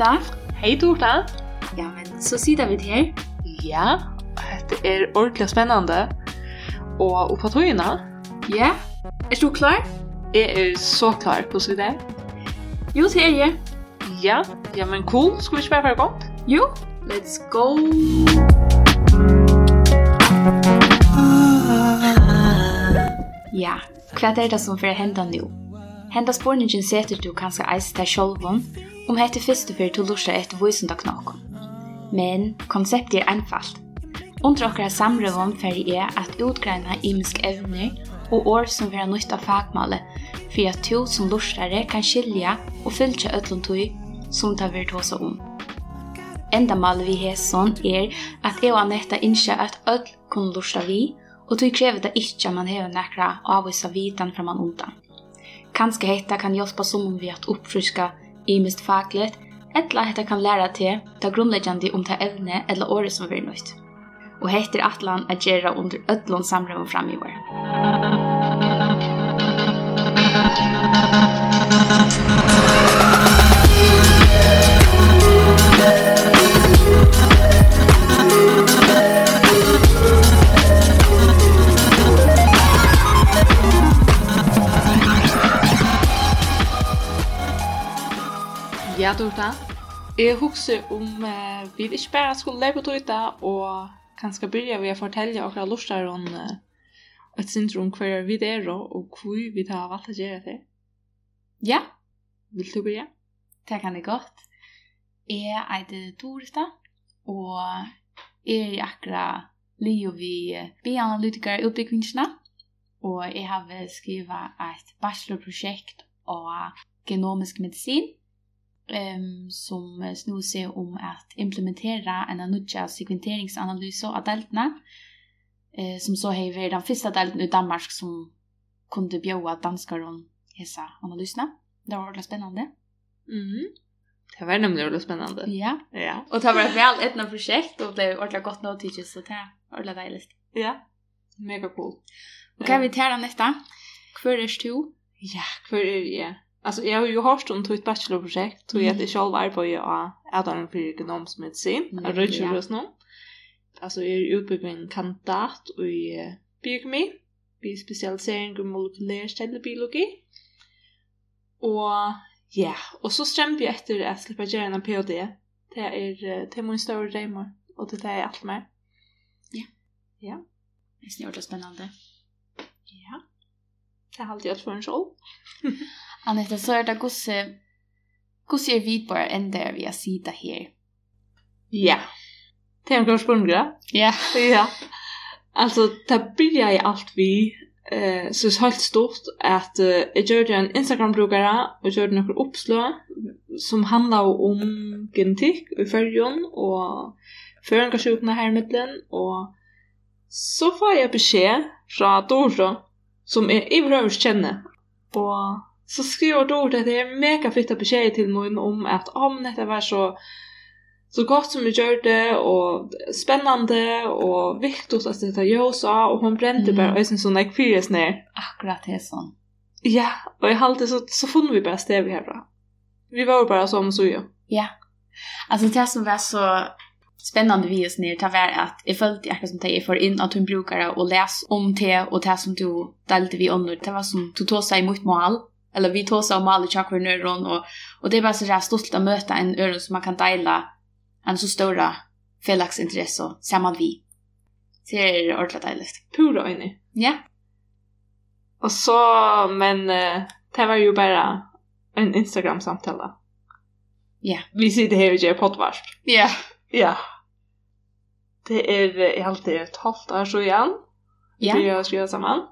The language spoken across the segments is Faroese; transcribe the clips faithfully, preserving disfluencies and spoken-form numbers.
Dorta. Hej Dorta. Ja, men så sitter vi her. Ja, det er ordentligt spennende. Og, og på togene. Ja, er du klar? Jeg er så klar på så det. Jo, det er jeg. Ja, ja, men cool. Skal vi ikke bare være godt? Jo, let's go. Ja, hva er det som får hende nå? Henda spårningen setter du kanskje eist deg sjølven, om hette første for til lursa etter vøysunda knokken. Men konseptet er einfalt. Under okra samrøven ferdig er at utgreina imisk evner og år som vil ha nytt av fagmale, for at to som lursare kan skilja og fylltja ødlund tøy som tar vi tåsa om. Enda malet vi hesson er at jeg og Anetta innskja at ødl kunne lursa vi, og tøy krever det ikke man hever nekra avvisa vitan fra man undan. Kanske hetta kan hjälpa som vi att uppfriska imist fagligt, eller hetta kan lära till ta grundläggande om ta evne eller året som vi nöjt. Och heter atlan att göra under ödlon samröven fram i år. Ja, Dorta. Jeg husker om uh, vi ikke bare skulle leve på Dorta, og kanskje begynne ved å fortelle akkurat lortar om uh, et syndrom hver vi er og hvor vi har valgt å gjøre det. Ja. Vil du begynne? Det kan det godt. Jeg er Dorta, og jeg er akkurat livet vi bioanalytikere utbyggvingsene, og jeg har skrivet et bachelorprosjekt av genomisk medisin, Um, som snor seg om at implementera en nudja sekventeringsanalyse av deltene, uh, som så har vært den første delten i Danmark som kunne bjøve danskere om disse analysene. Det var veldig spennende. Mm. Det var nemlig veldig spennende. Ja. Ja. Og det var et vel etna prosjekt, og det var ordentlig godt noe så det var veldig deilig. Ja, mega cool. Og hva er vi til neste? Hvor er du? Ja, hvor er jeg? Alltså jag har ju hört om ett bachelorprojekt och jag är själv arbetare av avdelningen för genomisk medicin. Jag röjer just nu. Alltså jag är utbyggd kandidat i biokemi, vid specialisering i molekylär cellubiologi. Och ja, och så strämmer vi efter att slippa göra en P H D. Det är det är min stora drömmar och det är allt mer. Ja. Ja. Det är snart spännande. Ja. Det har alltid gjort för en själv. Anetta, så er det gosse, gosse er vid bare enn der vi har sida her. Ja. Det er en klart spørsmål. Ja. Ja. Altså, det blir jeg alt vi, uh, så er helt stort at uh, jeg gjør en Instagram-brukere, og gjør noen oppslag som handler om genetikk i følgen, og føringasjukene her i midten, og så får jeg beskjed fra Dorta, som jeg i prøvers kjenner, og så skriver Dorta at det er mega fitta beskjed til mig om at om dette var så så godt som vi gjør det, og spennende, og viktigt at dette gjør så, og hun brente mm. bare øyne sånn jeg fyres ned. Akkurat det er sånn. Ja, og jeg halte så, så funnet vi bare sted vi herfra. Vi var jo bare som så jo. Ja, altså det som var så spennende vi oss ned, det var at jeg følte akkurat som det jeg får inn at hun bruker å lese om det, og det som du delte vi under. Det var som du tog seg imot mål, eller vi tog seg om alle tjakkvar nøyron, og, og det er bare så rett stolt å møte en øren som man kan deile en så stora felaksintresse sammen vi. Det er ordentlig deilig. Pura øyne. Ja. Og så, men uh, det var jo bare en Instagram-samtale. Ja. Vi sitter her og gjør poddvarp. Ja. Ja. Det er uh, alltid et halvt år så igjen. Ja. Vi har skrivet sammen.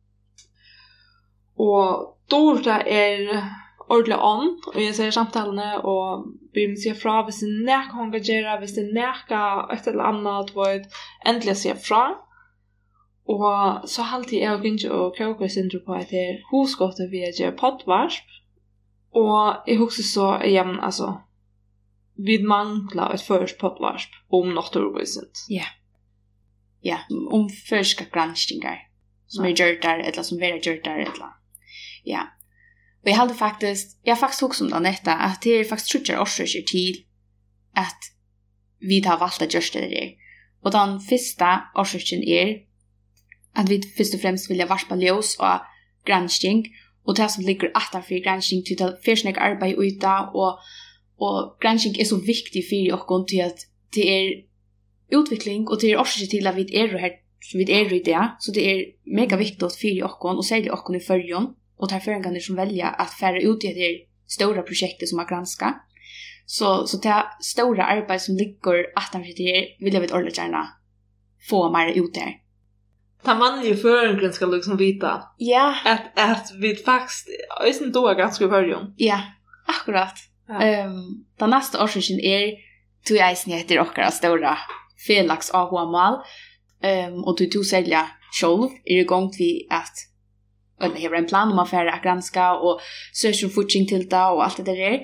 Og Dorta er ordentlig ånd, og jeg ser samtalene, og vi må si fra hvis det er nækka hun kan gjøre, hvis det er nækka et eller annet, hvor jeg endelig sier fra. Og så har alltid jeg og Gyntje og Kauka syndrom på at det er hosgåttet vi gjør poddvarsp. Og jeg husker så igjen, altså, vi mangler et først poddvarsp om naturvøysent. Ja. Ja, om førska granskningar som er gjort der, eller som er gjort der, eller ja. Och jag hade faktiskt, jag har faktiskt också om det detta, att det är faktiskt trutcher årsöker till att vi har valt att göra det där. Och den första årsöken är att vi först och främst vill varspa ljus och granskning. Och det som ligger utanför granskning till att försnäcka arbete ute. Och, och granskning är så viktig för oss till att det är utveckling och det är årsöken till att vi är här. Så vi är i det. Så det är mega viktigt för oss och särskilt oss i förrjun. Och tar förrän som välja att färra ut i det stora projektet som har granskat. Så, så det stora arbete som ligger utanför det vill jag vet ordentligt gärna få mer ut där. Ta man ju förrän ska liksom vita. Ja. Att, att vi faktiskt är inte då ganska i början. Ja, akkurat. Ja. Um, den nästa årsöken är tog jag heter och stora Felix A H-mål. Um, och du tog sälja själv är igång till att eller har en plan om att färra att granska och söka fortsättning till det och allt det där.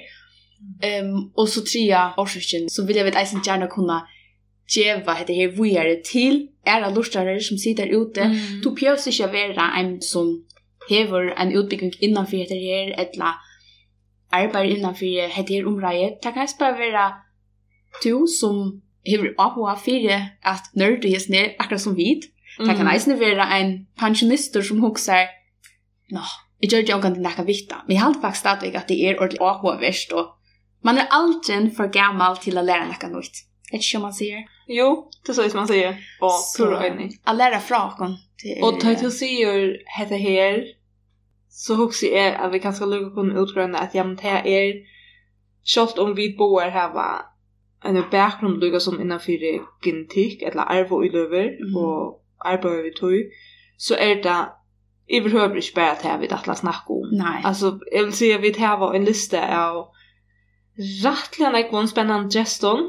Um, och så trea årsöken så vill jag vet att gärna kunna geva det här vidare till era lustare som sitter ute. Mm. Du behöver inte vara en som har en utbyggning innanför det här eller arbetar innanför det här området. Det kan bara vara du som har A H för att nördigheten ner akkurat som vid. Mm. Det kan också vara en pensionister som huxar nå, jag gör det också inte vita. Men jag har faktiskt stadigväck att det är ordentligt A H-värst och man är alltid för gammal till att lära något nytt. Är det så man säger? Jo, det är så som man säger. Och så att lära från. Och ta till sig det här så huxar jag att vi kanske lugga kunna utgröna att ja, men det här är kört om vi bor här var en bakgrund lugga som innanför genetik eller arv i löver mm. och arbetar vi tog så är det i behöver inte bara att vi att snacka om. Nej. Alltså, jag vill säga att vi här var en lista av rättligen en spännande geston.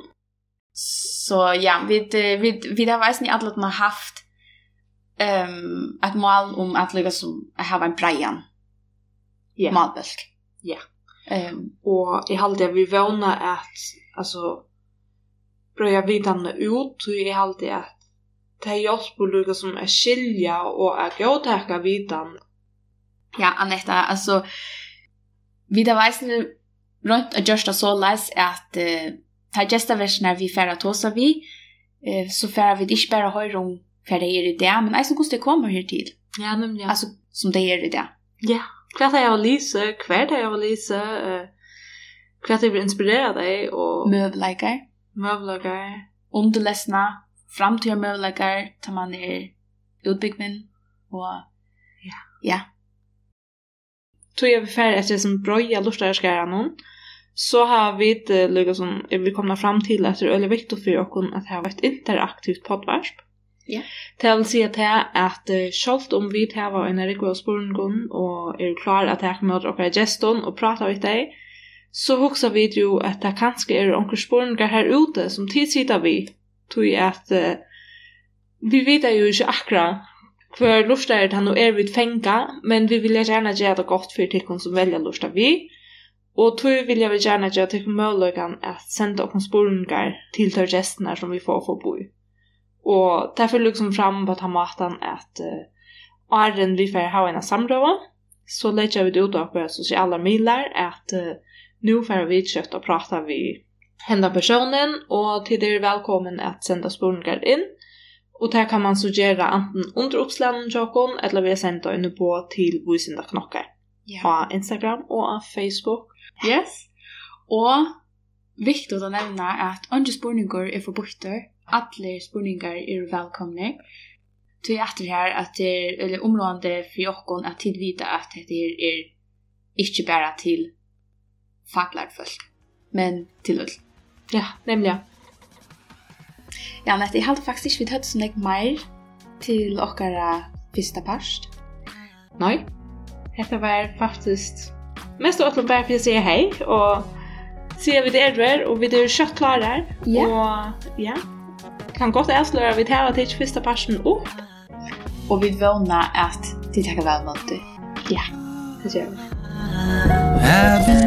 Så ja, vi, vi, vi har varit i alla att man har haft um, ett mål om att lyckas som att ha en Brian. Ja. Yeah. Malbölk. Ja. Yeah. Um, och i halvdelen vi vana att alltså börja vidarna ut och i halvdelen att det är just på lyckas som att skilja och att gå täcka vidan. Ja, Anetta, alltså vi har varit runt att göra så läs att uh, här gästa versioner vi färra tåsa vi uh, så färra vi inte bara höra om färra er i det men alltså måste det komma här till. Ja, nämligen. Alltså som det är i det. Ja, kvart har jag Lisa, kvart har jag Lisa, uh, kvart har vi inspirerat dig och möbellägare. Möbellägare. Underläsna framtida möjligheter tar man är utbyggmen och ja. Ja. Tog jag färdig efter som bröja lustarskärnan så har vi det lyckats som vi kommer fram till att det är väldigt viktigt för oss att ha ett interaktivt poddvarp. Ja. Det vill säga att, att självt om vi har en riktig spårning och är klar att ta med och geston och prata med dig så huxar vi ju att det kanske är några spårningar här ute som tidsitter vi tog att uh, vi vet ju inte akkurat för lustar är det han och är vid fänga men vi vill gärna göra det gott för tyckon som väljer lustar vi och tog vill jag gärna göra tyckon möjligheten att sända oss spårningar till de gästerna som vi får få bo i och därför liksom fram på att ha maten att uh, åren vi får ha en samråd så lägger vi det ut på sociala medier att uh, nu får vi kött och prata vi hända personen och till er välkommen att sända spårningar in. Och där kan man suggera antingen under uppslagen Jokon eller vi sända inne på till Voisinda knockar. Yeah. På Instagram och Facebook. Yes. Och viktigt att nämna att andra spårningar är förbjudet. Alla spårningar är välkomna. Till att det här att det är eller område för Jokon att tillvita att det är, är inte bara till faglärd folk. Men till öll. Ja, nämligen. Ja, men jag hade faktiskt inte hört så mycket mer till åkara första past. Nej, det var faktiskt mest åt att bara för att säga hej och se vi det är och vi är kött klara. Ja. Och ja, kan gott avslöja vi tar till första pasten upp. Och vi vånar att det tar väl mot det. Ja, det gör vi.